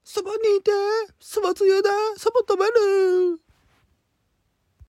そばにいて、そばつゆだ、そば食べる。